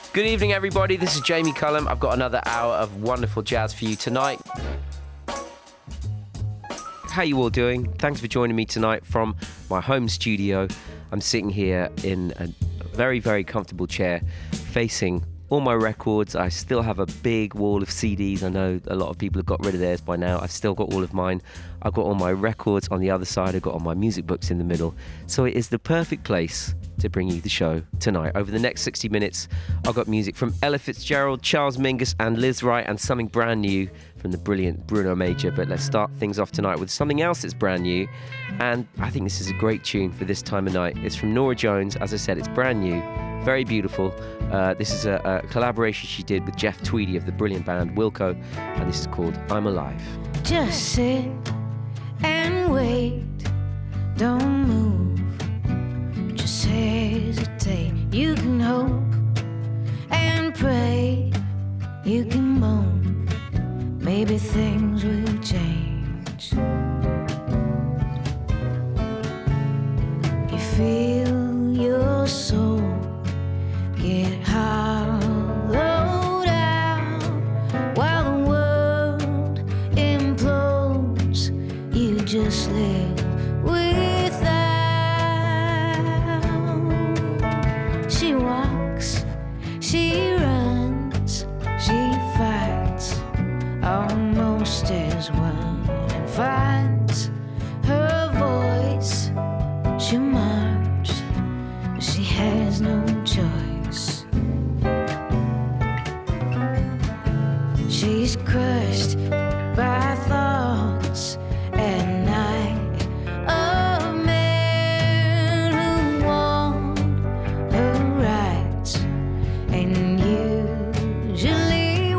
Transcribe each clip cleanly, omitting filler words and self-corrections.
Good evening, everybody. This is Jamie Cullum. I've got another hour of wonderful jazz for you tonight. How you all doing? Thanks for joining me tonight from my home studio. I'm sitting here in a very, very comfortable chair facing all my records. I still have a big wall of CDs. I know a lot of people have got rid of theirs by now. I've still got all of mine. I've got all my records on the other side. I've got all my music books in the middle. So it is the perfect place to bring you the show tonight. Over the next 60 minutes, I've got music from Ella Fitzgerald, Charles Mingus and Liz Wright, and something brand new from the brilliant Bruno Major. But let's start things off tonight with something else that's brand new, and I think this is a great tune for this time of night. It's from Norah Jones. As I said, it's brand new, very beautiful. This is a collaboration she did with Jeff Tweedy of the brilliant band Wilco, and this is called I'm Alive. Just sit and wait, don't move, just hesitate. You can hope and pray, you can moan, maybe things will change. You feel your soul get hollowed out while the world implodes. You just live without. She walks, she runs, she fights, almost as one, and finds her voice. She'll march, but she has no choice. She's crushed by thoughts at night of men who want her rights and usually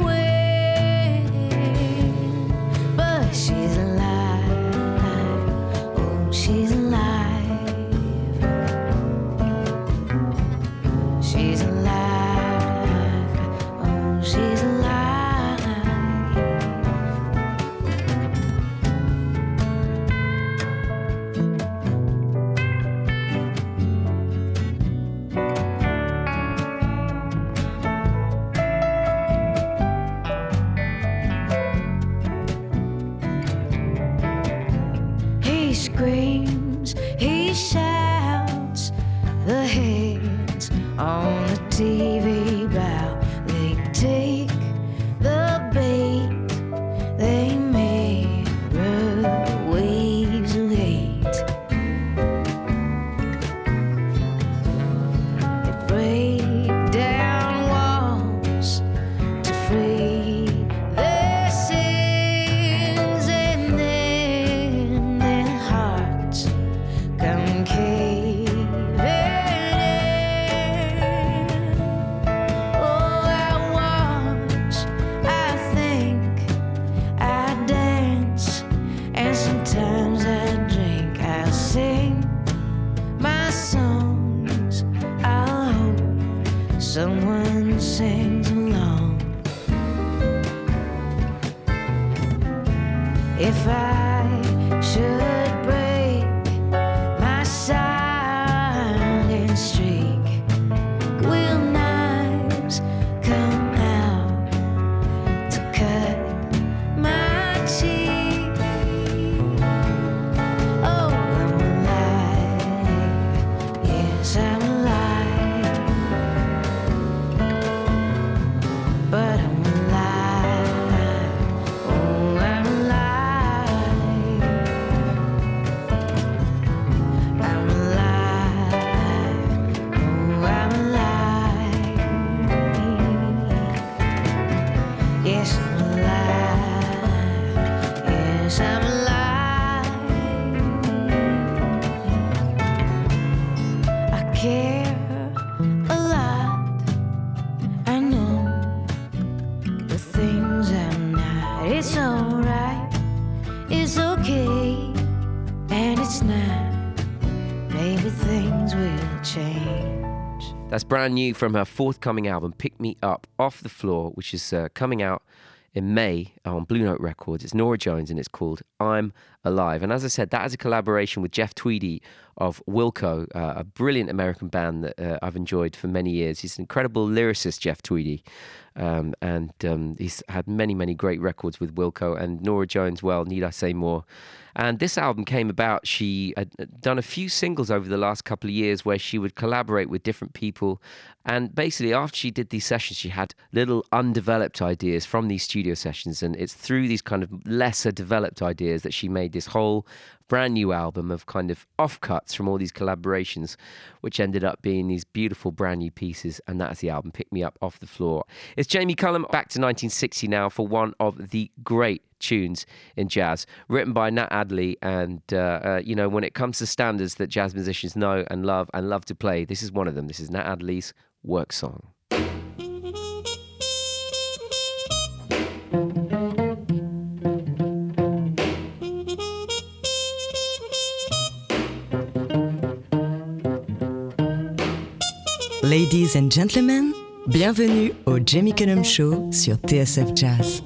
win. But she's alive, oh, she's alive. She's alive, oh, she's alive. He screams, he shouts, the heads on the TV bow. They take the bait, they mirror waves of hate. They break down walls to free their sins, and then their hearts come caving in. Oh, I watch, I think, I dance, and sometimes I drink. I sing my songs. I hope someone sings along. If I should break my silent streak, will knives come out to cut my cheek? Oh, I'm alive, yes, I'm alive, but I'm alive, oh, I'm alive. I'm alive, oh, I'm alive. Yes, I'm alive, yes, I'm alive. I care a lot, I know the things I'm not. It's alright, it's okay, and it's not. Maybe things will change. That's brand new from her forthcoming album, Pick Me Up Off the Floor, which is coming out in May on Blue Note Records. It's Norah Jones and it's called I'm alive. And as I said, that is a collaboration with Jeff Tweedy of Wilco, a brilliant American band that I've enjoyed for many years. He's an incredible lyricist, Jeff Tweedy. And he's had many, many great records with Wilco and Norah Jones. Well, need I say more? And this album came about. She had done a few singles over the last couple of years where she would collaborate with different people. And basically, after she did these sessions, she had little undeveloped ideas from these studio sessions. And it's through these kind of lesser developed ideas that she made this whole brand new album of kind of offcuts from all these collaborations, which ended up being these beautiful brand new pieces. And that's the album, Pick Me Up Off the Floor. It's Jamie Cullum, back to 1960 now for one of the great tunes in jazz, written by Nat Adderley. And, you know, when it comes to standards that jazz musicians know and love to play, this is one of them. This is Nat Adderley's Work Song. Ladies and gentlemen, bienvenue au Jamie Cullum Show sur TSF Jazz.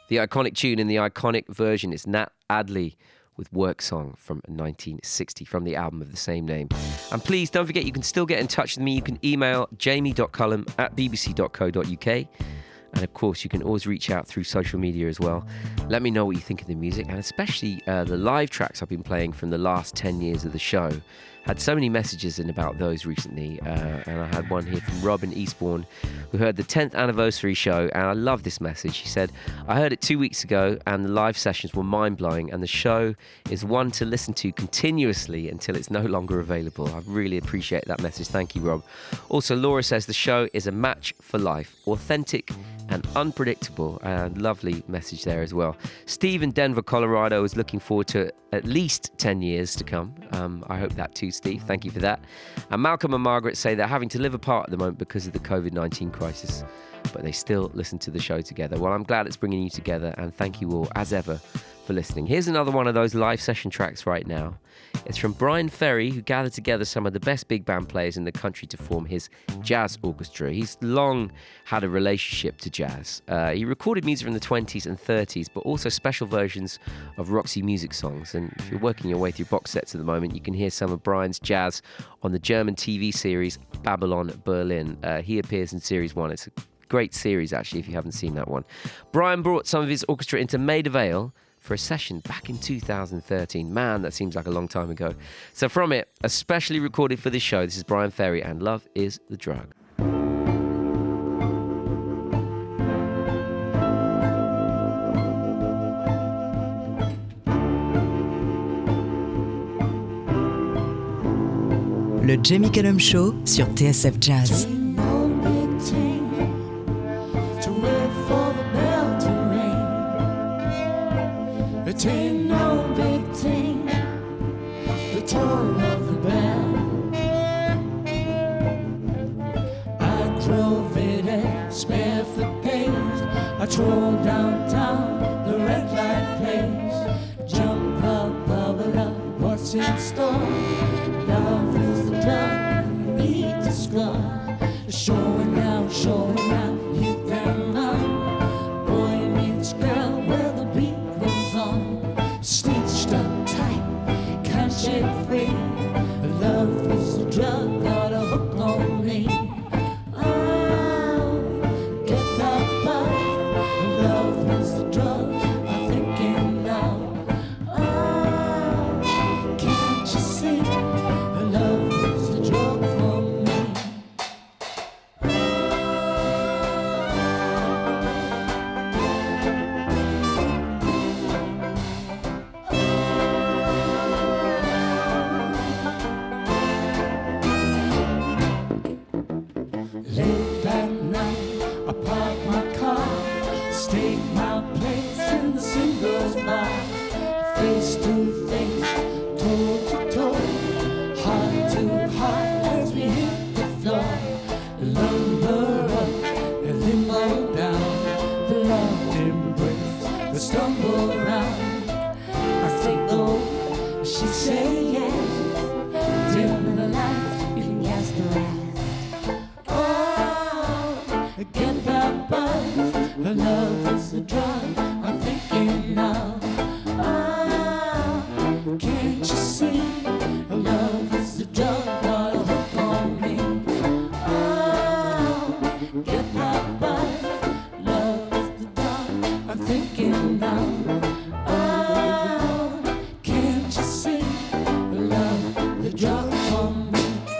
The iconic tune in the iconic version is Nat Adley with Work Song from 1960 from the album of the same name. And please don't forget, you can still get in touch with me. You can email jamie.cullum@bbc.co.uk. And of course, you can always reach out through social media as well. Let me know what you think of the music, and especially the live tracks I've been playing from the last 10 years of the show. Had so many messages in about those recently, and I had one here from Rob in Eastbourne, who heard the 10th anniversary show, and I love this message. He said, I heard it 2 weeks ago, and the live sessions were mind-blowing, and the show is one to listen to continuously until it's no longer available. I really appreciate that message. Thank you, Rob. Also, Laura says the show is a match for life, authentic and unpredictable. Lovely message there as well. Steve in Denver, Colorado is looking forward to at least 10 years to come. I hope that too, Steve. Thank you for that. And Malcolm and Margaret say they're having to live apart at the moment because of the COVID-19 crisis, but they still listen to the show together. Well, I'm glad it's bringing you together, and thank you all, as ever, for listening. Here's another one of those live session tracks right now. It's from Brian Ferry, who gathered together some of the best big band players in the country to form his jazz orchestra. He's long had a relationship to jazz. He recorded music in the 20s and 30s, but also special versions of Roxy Music songs. And if you're working your way through box sets at the moment, you can hear some of Brian's jazz on the German TV series Babylon Berlin. He appears in Series 1. It's a great series, actually, if you haven't seen that one. Brian brought some of his orchestra into Maida Vale for a session back in 2013. Man, that seems like a long time ago. So from it, especially recorded for this show, this is Brian Ferry and Love is the Drug. Le Jamie Cullum Show sur TSF Jazz. It ain't no big thing, the toll of the bell. I drove it at spare for days. I drove downtown, the red light place. Jump up, bubble up, what's in store? Love is the drug, need to score. Showing out, you can run. Boy meets girl, where the beat goes on. Stitched up tight, can't shake free. Love is the drug, got a hook on me. Oh, get that bug. Love is the drug, I'm thinking now. Oh, can't you see? Love is the drug for me. Late that night, I parked my car, stake my place in the singles bar. Face to face, toe to toe, heart to heart as we hit the floor. Lumber up and limbo down, the locked embrace, the stumble around. I say go, she say yes, dim the lights, you can guess the rest. Get that buzz, love is the drug, I'm thinking now. Ah, can't you see? Love is the drug, got a hook on me. Ah, get that buzz, love is the drug, I'm thinking now. Ah, can't you see? Love, the drug on me.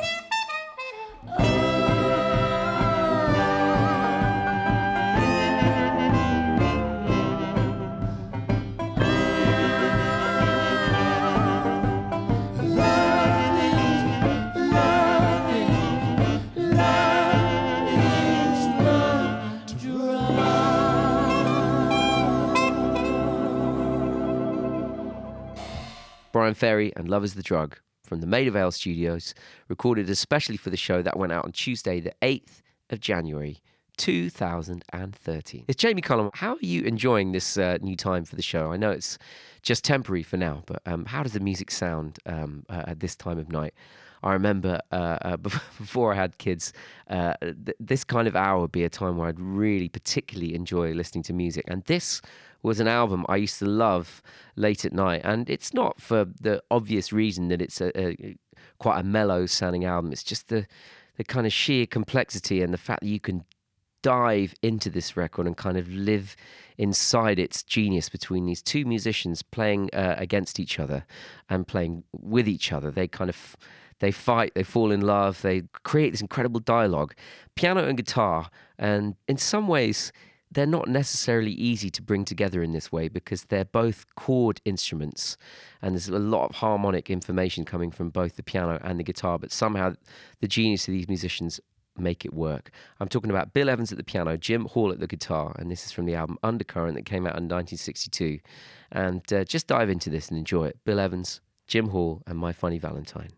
Brian Ferry and Love is the Drug from the Maida Vale Studios, recorded especially for the show that went out on Tuesday, the 8th of January, 2013. It's Jamie Cullum. How are you enjoying this new time for the show? I know it's just temporary for now, but how does the music sound at this time of night? I remember before I had kids, this kind of hour would be a time where I'd really particularly enjoy listening to music. And this was an album I used to love late at night. And it's not for the obvious reason that it's quite a mellow sounding album. It's just the kind of sheer complexity and the fact that you can dive into this record and kind of live inside its genius between these two musicians playing against each other and playing with each other. They fight, they fall in love, they create this incredible dialogue, piano and guitar. And in some ways, they're not necessarily easy to bring together in this way because they're both chord instruments and there's a lot of harmonic information coming from both the piano and the guitar, but somehow the genius of these musicians make it work. I'm talking about Bill Evans at the piano, Jim Hall at the guitar, and this is from the album Undercurrent that came out in 1962. And just dive into this and enjoy it. Bill Evans, Jim Hall, and My Funny Valentine.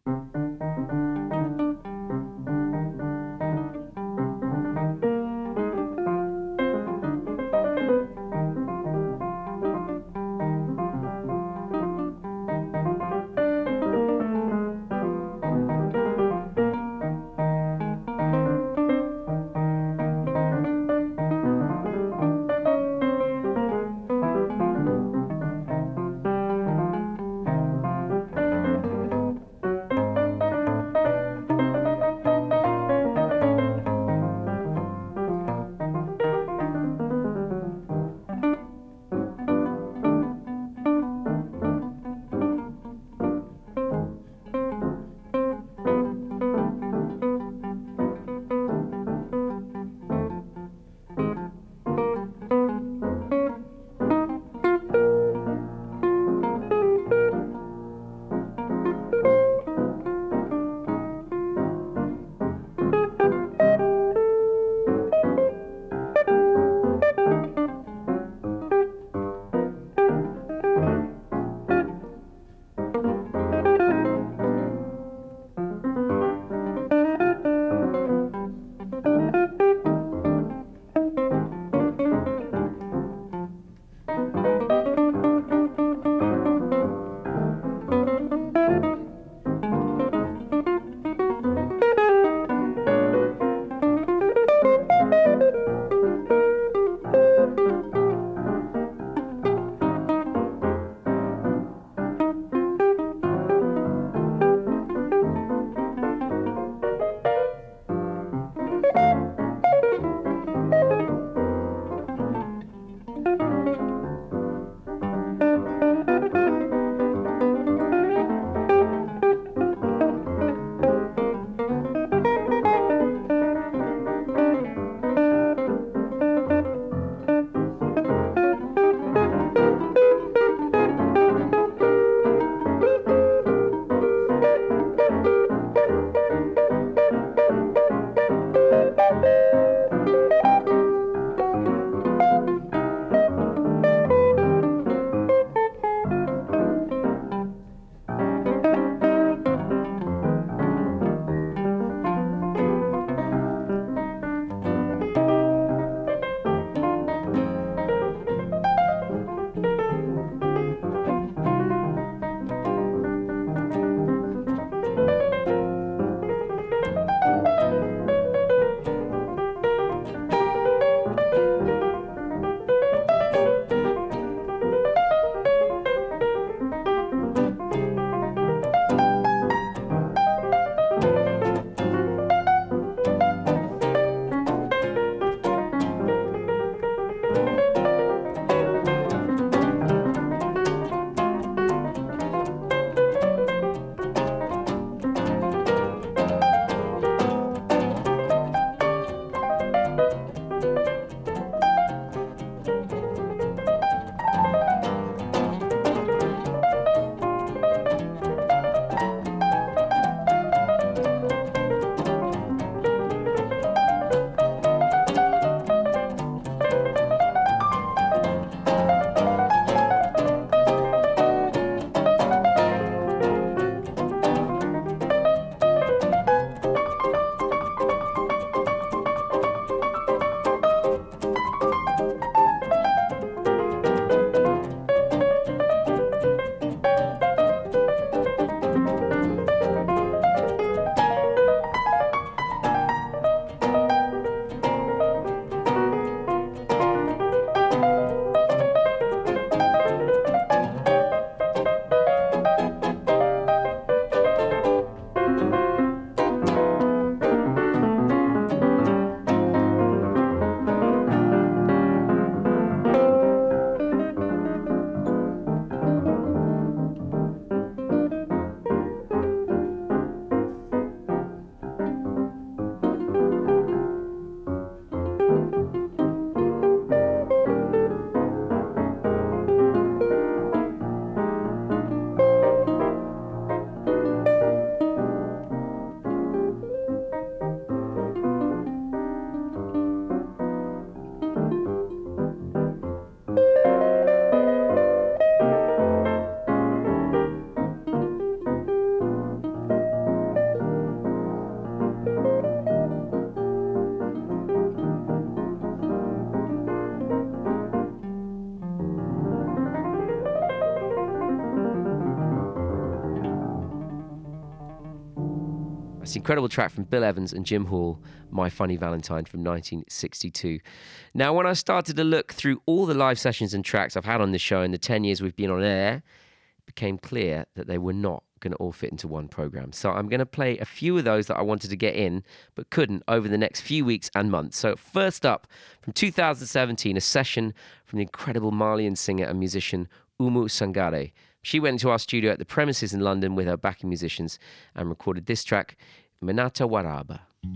That's the incredible track from Bill Evans and Jim Hall, My Funny Valentine from 1962. Now, when I started to look through all the live sessions and tracks I've had on this show in the 10 years we've been on air, it became clear that they were not going to all fit into one program. So I'm going to play a few of those that I wanted to get in but couldn't over the next few weeks and months. So first up, from 2017, a session from the incredible Malian singer and musician Oumou Sangaré. She went into our studio at the Premises in London with her backing musicians and recorded this track, Minata Waraba.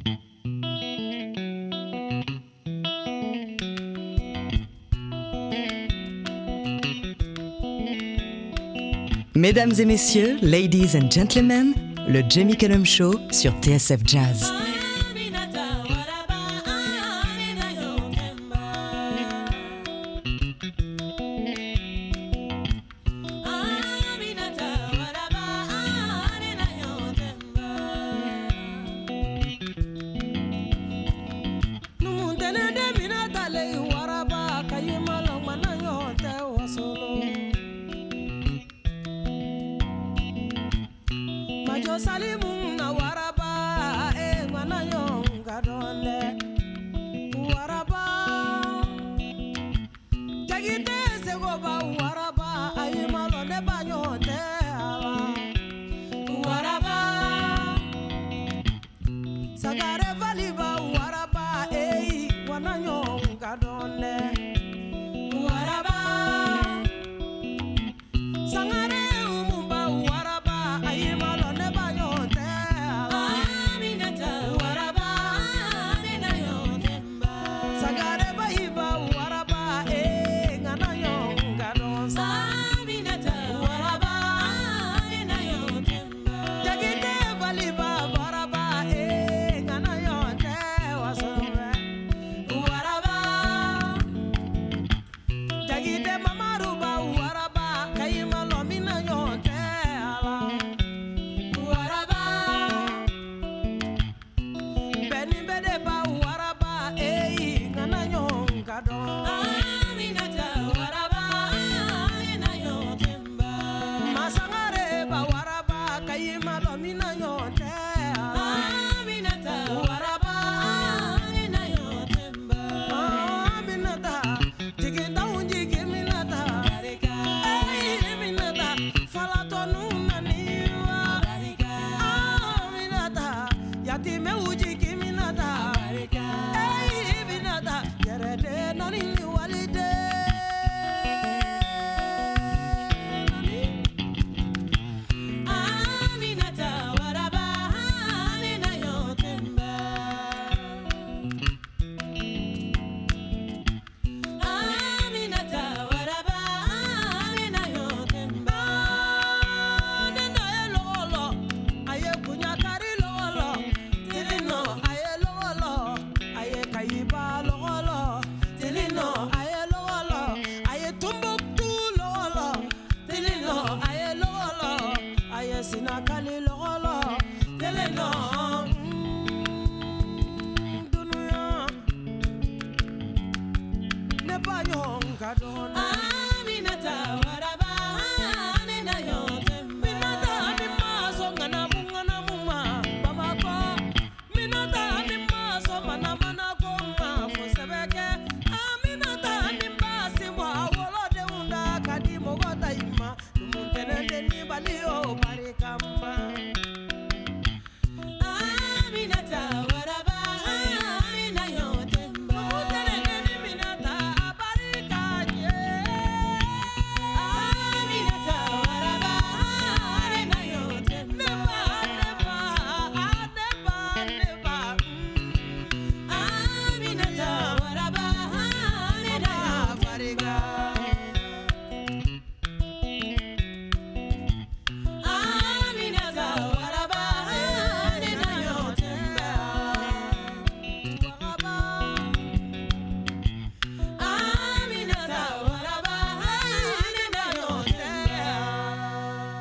Mesdames et messieurs, ladies and gentlemen, le Jamie Cullum Show sur TSF Jazz.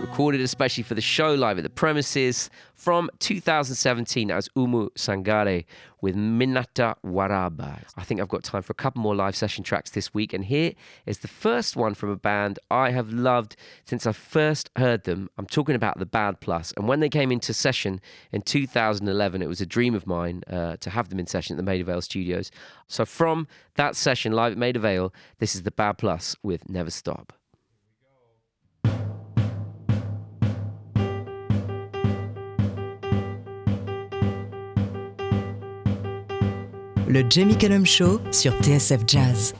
recorded especially for the show live at the Premises from 2017 as Umu Sangare with Minata Waraba. I think I've got time for a couple more live session tracks this week, and here is the first one from a band I have loved since I first heard them. I'm talking about the Bad Plus, and when they came into session in 2011, it was a dream of mine to have them in session at the Maida Vale Studios. So from that session live at Maida Vale, this is the Bad Plus with Never Stop. Le Jamie Cullum Show sur TSF Jazz.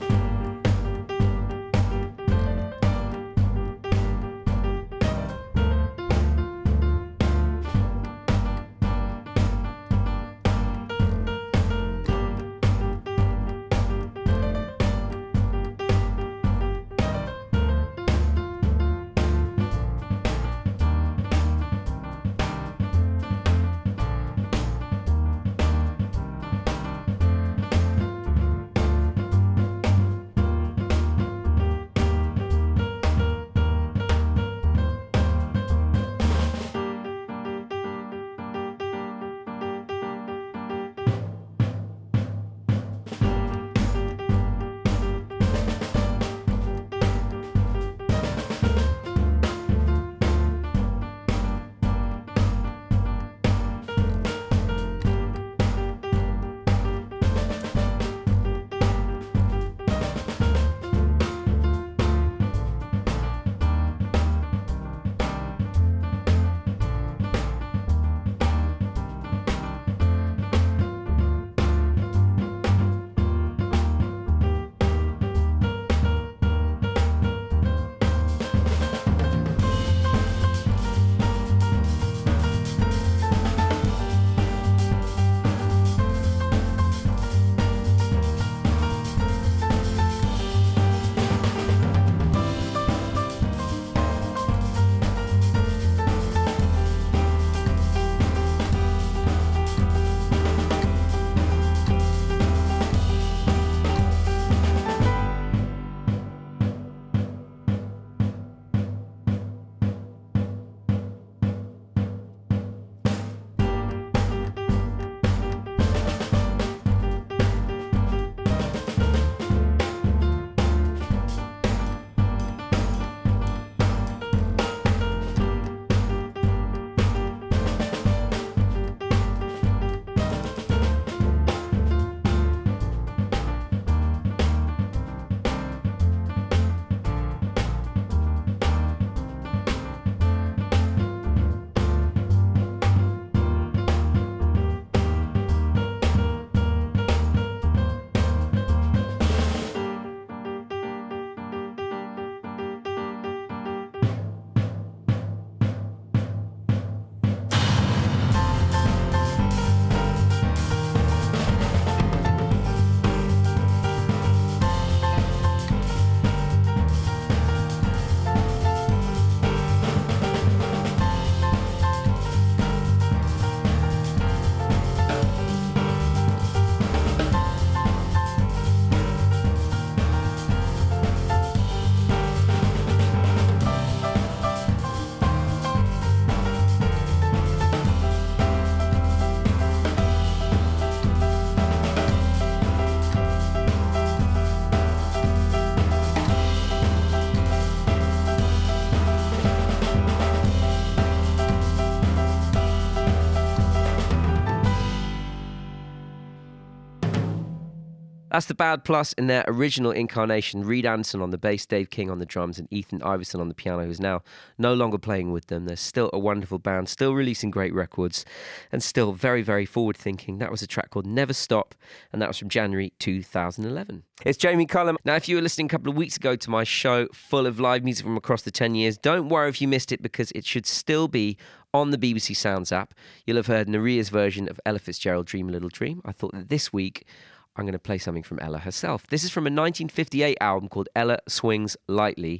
That's the Bad Plus in their original incarnation. Reed Anderson on the bass, Dave King on the drums, and Ethan Iverson on the piano, who's now no longer playing with them. They're still a wonderful band, still releasing great records, and still very, very forward-thinking. That was a track called Never Stop, and that was from January 2011. It's Jamie Cullum. Now, if you were listening a couple of weeks ago to my show full of live music from across the 10 years, don't worry if you missed it, because it should still be on the BBC Sounds app. You'll have heard Naria's version of Ella Fitzgerald, Dream a Little Dream. I thought that this week I'm going to play something from Ella herself. This is from a 1958 album called Ella Swings Lightly,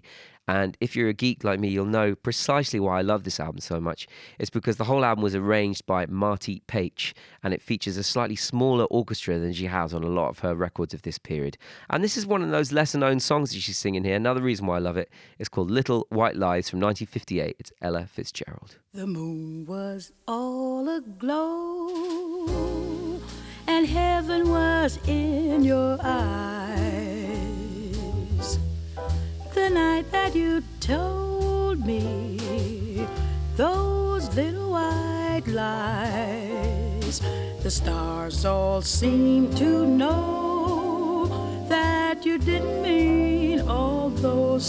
And if you're a geek like me, you'll know precisely why I love this album so much. It's because the whole album was arranged by Marty Paich, and it features a slightly smaller orchestra than she has on a lot of her records of this period. And this is one of those lesser-known songs that she's singing here. Another reason why I love it is called Little White Lies from 1958. It's Ella Fitzgerald. The moon was all aglow, and heaven was in your eyes. The night that you told me those little white lies, the stars all seemed to know that you didn't mean all those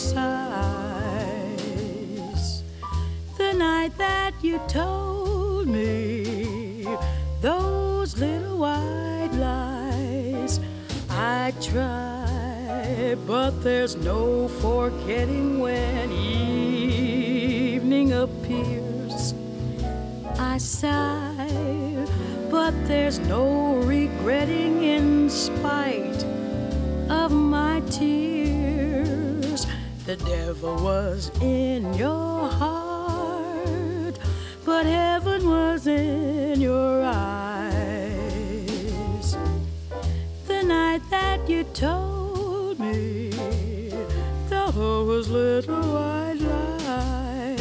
sighs. The night that you told me those little white lies, I tried, but there's no forgetting when evening appears. I sigh, but there's no regretting in spite of my tears. The devil was in your heart, but heaven was in your eyes. The night that you told me those little white lies.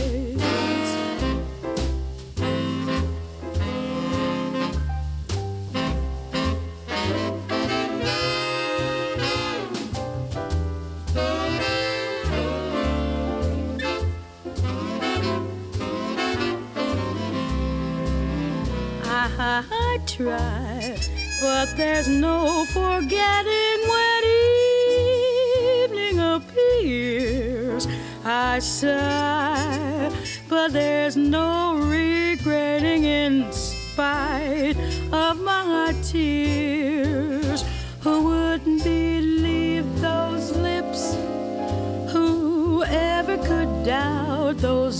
I try, but there's no forgetting when evening appears. I sigh, but there's no regretting in spite of my tears. Who wouldn't believe those lips? Whoever could doubt those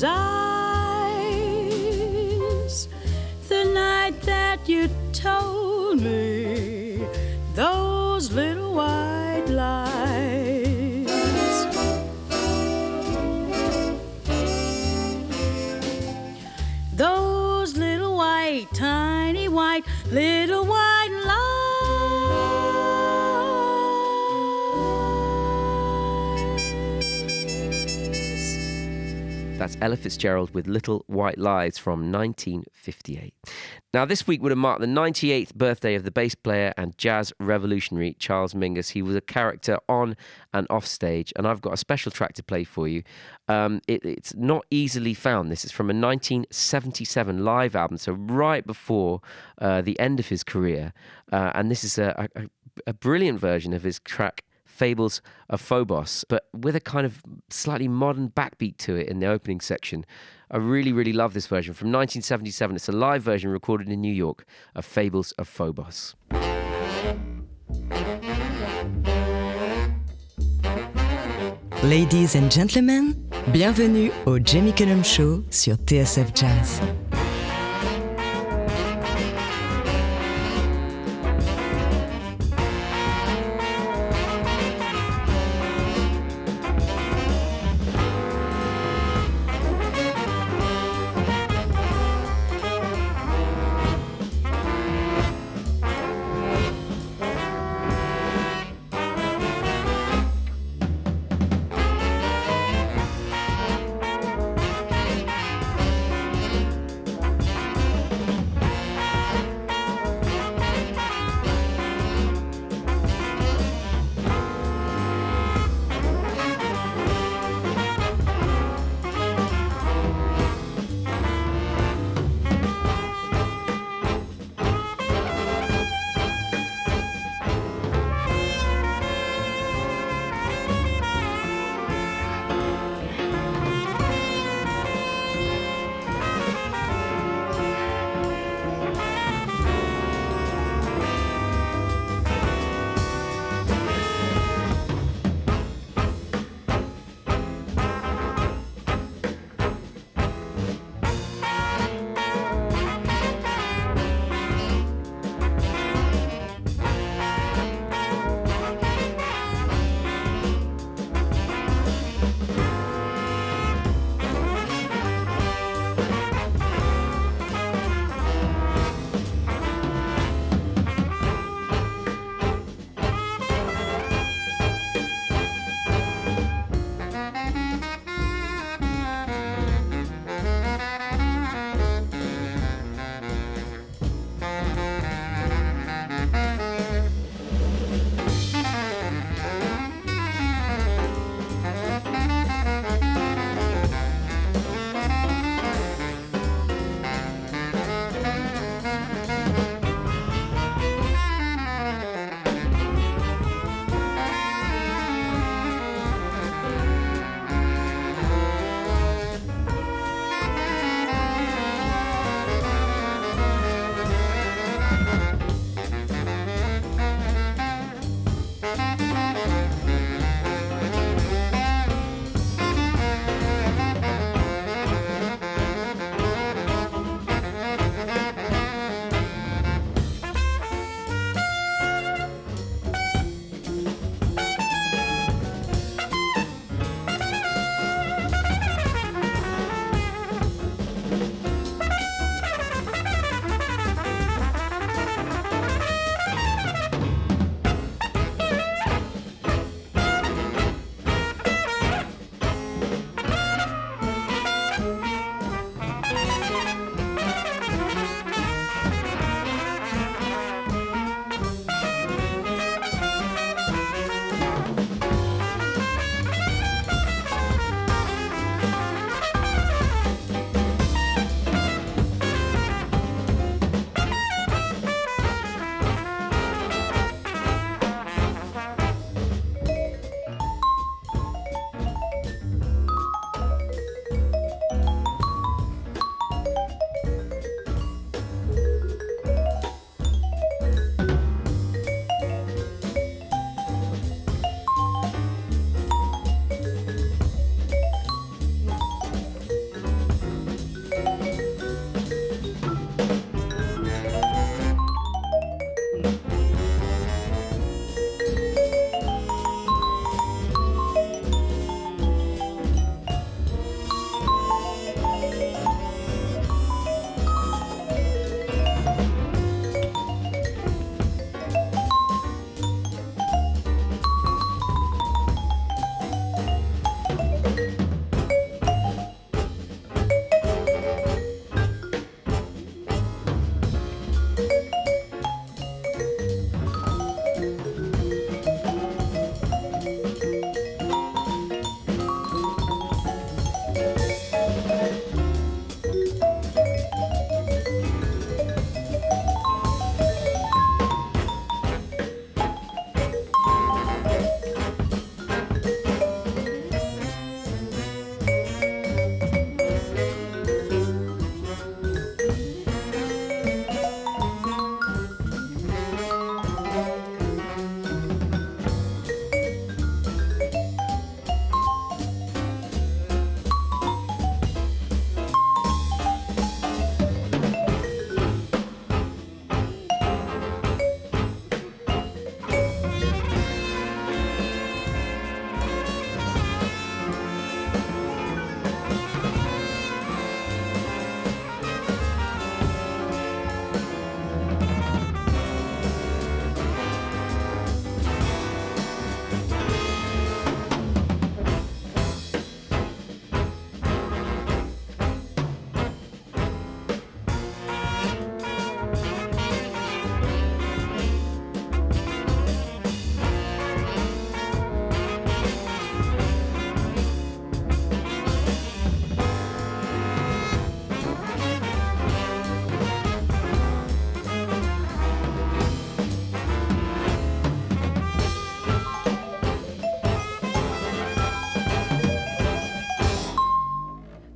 eyes? The night that you told me those little white lies. Those little white, tiny white, little white lies. That's Ella Fitzgerald with Little White Lies from 1958. Now, this week would have marked the 98th birthday of the bass player and jazz revolutionary Charles Mingus. He was a character on and off stage, and I've got a special track to play for you. It's not easily found. This is from a 1977 live album, so right before the end of his career. And this is a brilliant version of his track Fables of Phobos, but with a kind of slightly modern backbeat to it in the opening section. I really, really love this version from 1977. It's a live version recorded in New York of Fables of Phobos. Ladies and gentlemen, bienvenue au Jamie Cullum Show sur TSF Jazz.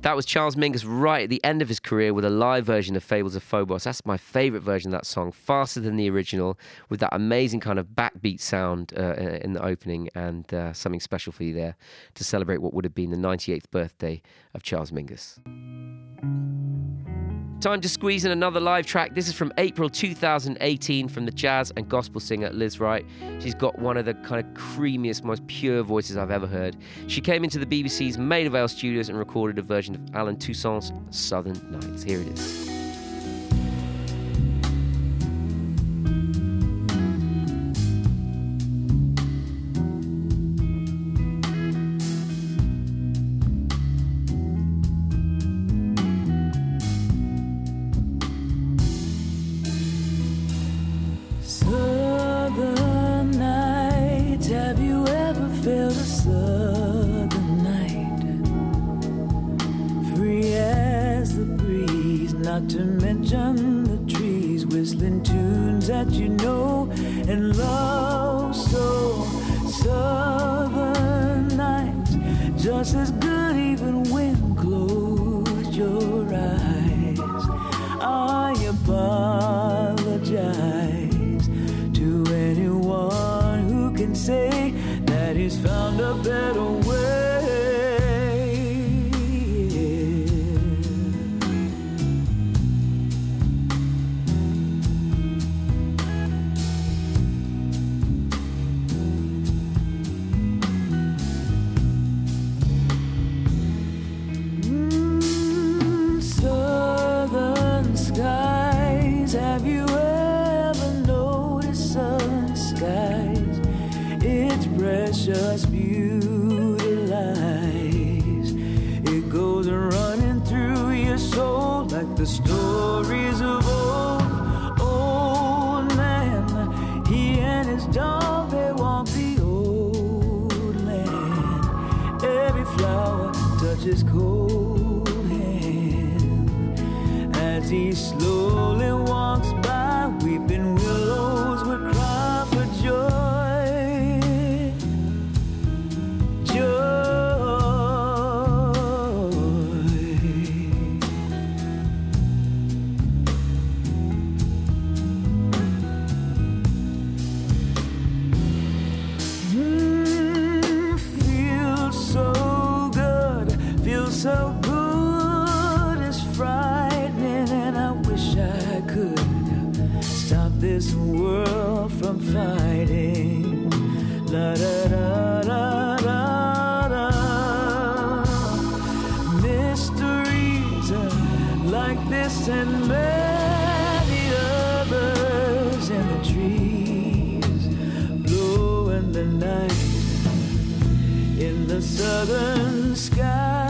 That was Charles Mingus right at the end of his career with a live version of Fables of Phobos. That's my favourite version of that song, faster than the original, with that amazing kind of backbeat sound in the opening, and something special for you there to celebrate what would have been the 98th birthday of Charles Mingus. Time to squeeze in another live track. This is from April 2018 from the jazz and gospel singer Liz Wright. She's got one of the kind of creamiest, most pure voices I've ever heard. She came into the BBC's Maida Vale studios and recorded a version of Alan Toussaint's Southern Nights. Here it is. To mention the trees whistling tunes that you know and love, so southern nights, just as good even when close your eyes. I apologize to anyone who can say that he's found a better way. Precious beauty lies. It goes running through your soul like the stories of old man. He and his dog, they walk the old land. Every flower touches cold hand as he slowly walks by. Weeping willows would cry for joy. So good, it's frightening, and I wish I could stop this world from fighting. La da da da da da. Mysteries like this and many others in the trees, blow in the night in the southern sky.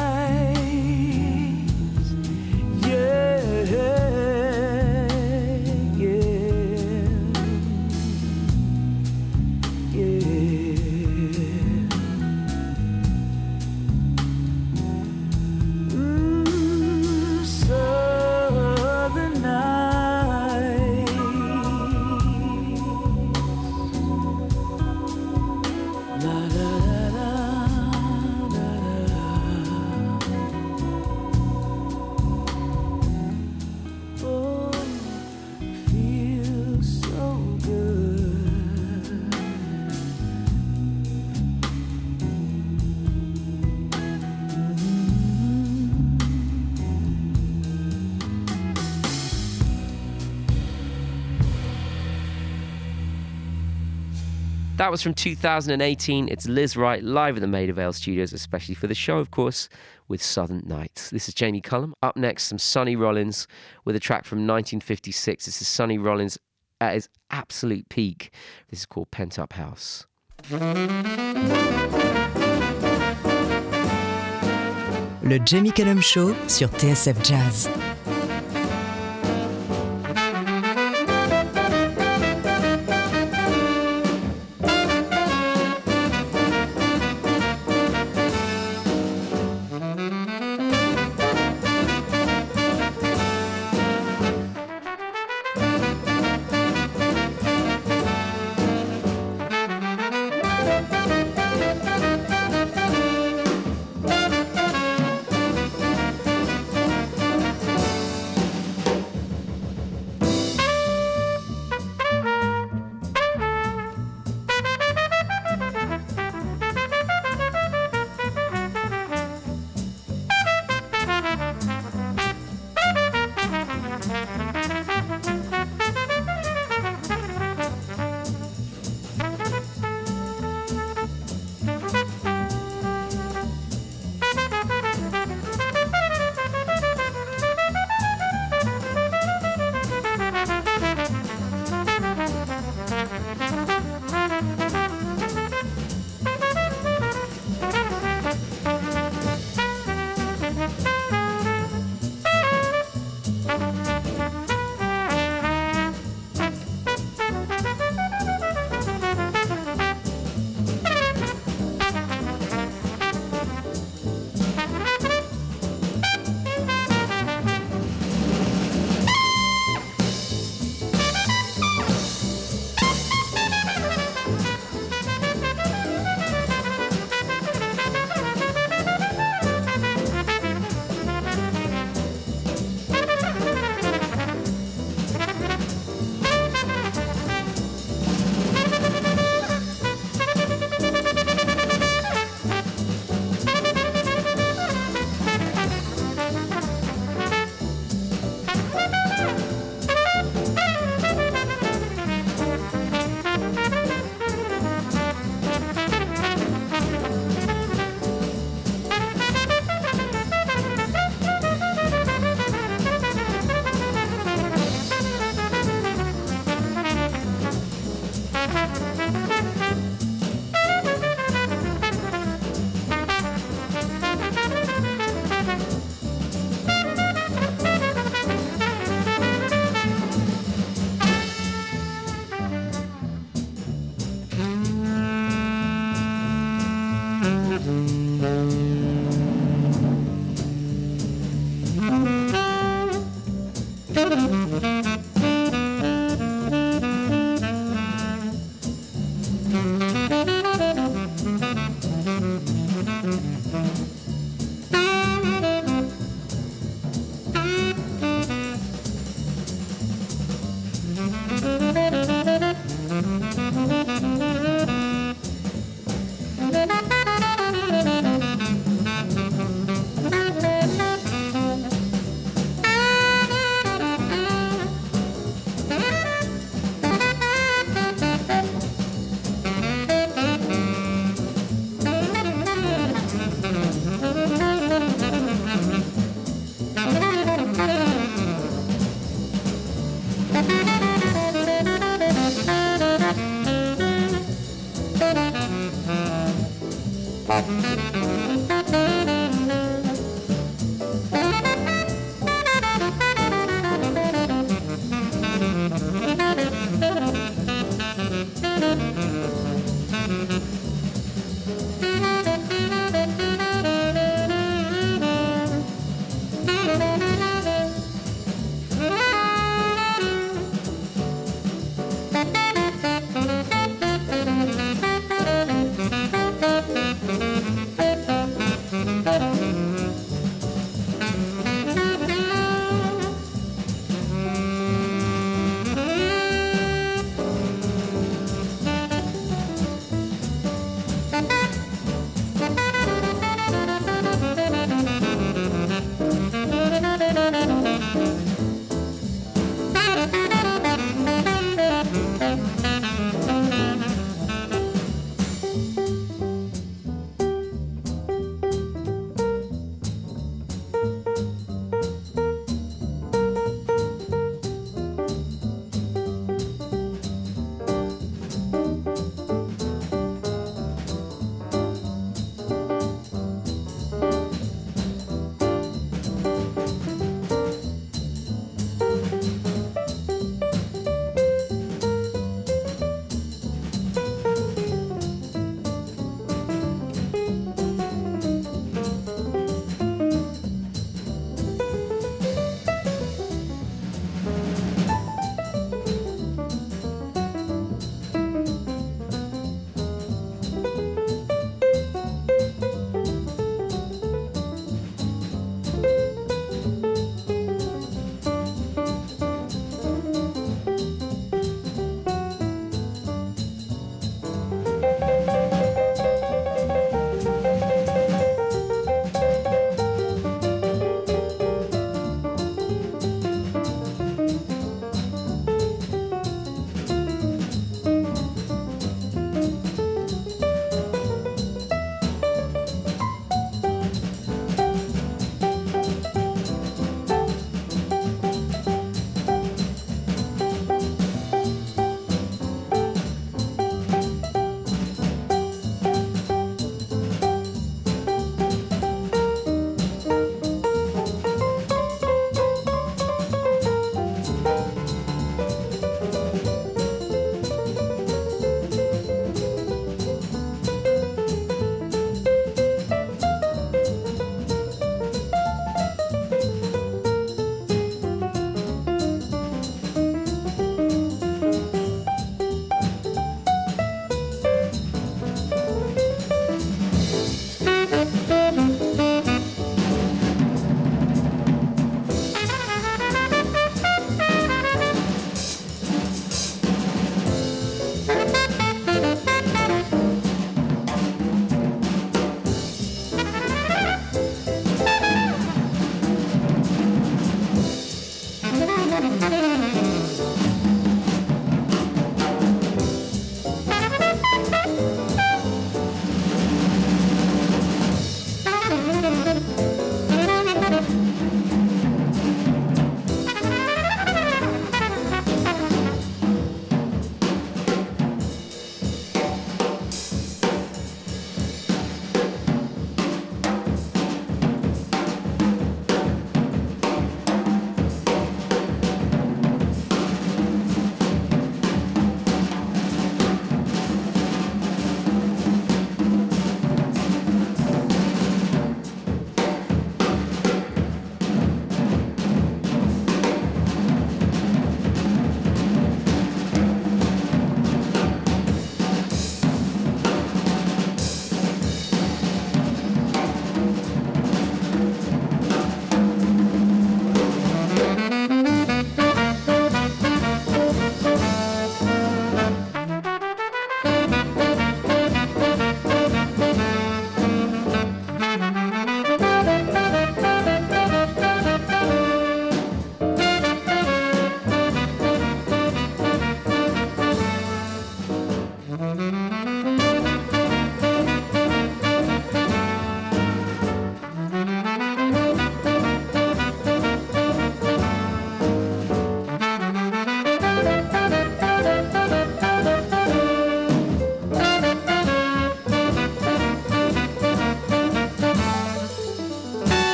That was from 2018. It's Liz Wright live at the Maida Vale studios, especially for the show, of course, with Southern Nights. This is Jamie Cullum. Up next, some Sonny Rollins with a track from 1956. This is Sonny Rollins at his absolute peak. This is called Pent Up House. Le Jamie Cullum Show sur TSF Jazz.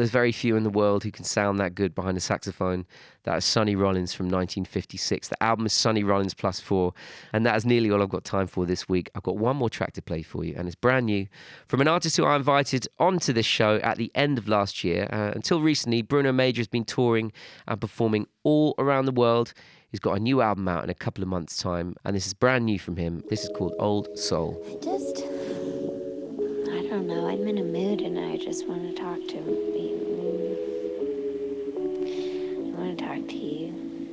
there's very few in the world who can sound that good behind a saxophone. That is Sonny Rollins from 1956. The album is Sonny Rollins Plus 4, and that is nearly all I've got time for this week. I've got one more track to play for you, and it's brand new from an artist who I invited onto this show at the end of last year. Until recently, Bruno Major has been touring and performing all around the world. He's got a new album out in a couple of months' time, and this is brand new from him. This is called Old Soul. I don't know, I'm in a mood and I just want to talk to you. I want to talk to you.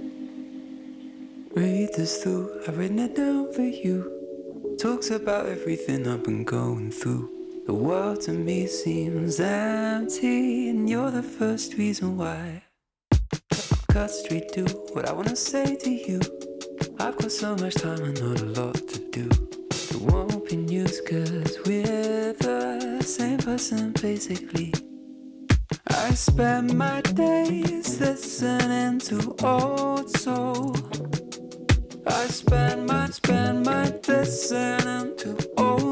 Read this through, I've written it down for you. Talks about everything I've been going through. The world to me seems empty, and you're the first reason why. Cut straight to what I wanna say to you. I've got so much time and not a lot to do. It won't be news cause we're the same person basically. I spend my days listening to old soul. I spend my listening to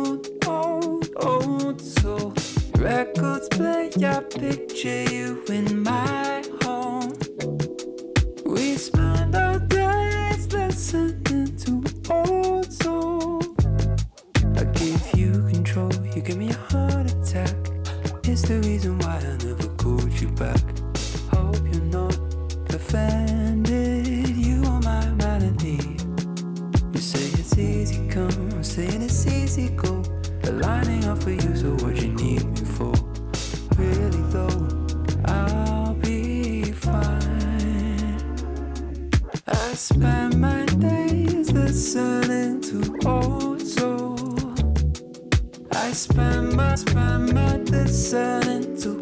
old soul. Records play, I picture you in my home. We spend our days listening to old soul. I give you control, you give me a heart attack. It's the reason why I never called you back. Hope you're not offended, you are my melody. You say it's easy come, I'm saying it's easy go. Aligning up for you, so what you need me for? Really though, I'll be fine. I spend my days listening to old soul. I spend my listening to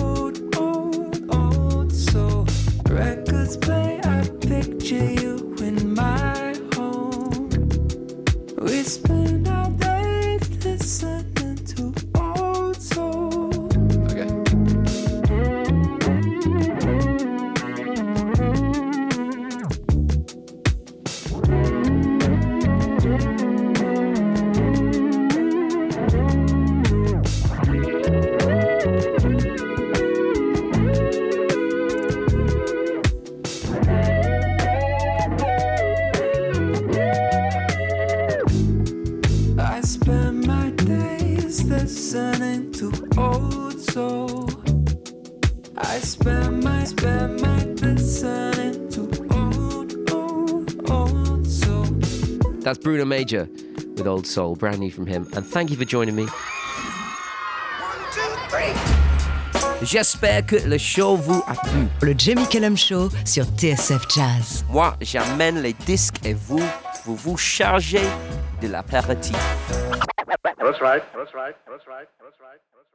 old soul. Records play, I picture you in my home. We spend our days listening to old soul. Okay. I spend my days listening to old soul. I spend my listening to old soul. That's Bruno Major with Old Soul, brand new from him. And thank you for joining me. 1, 2, 3. J'espère que le show vous a plu. Le Jamie Cullum Show sur TSF Jazz. Moi, j'amène les disques et vous vous chargez de l'apéritif. That's right.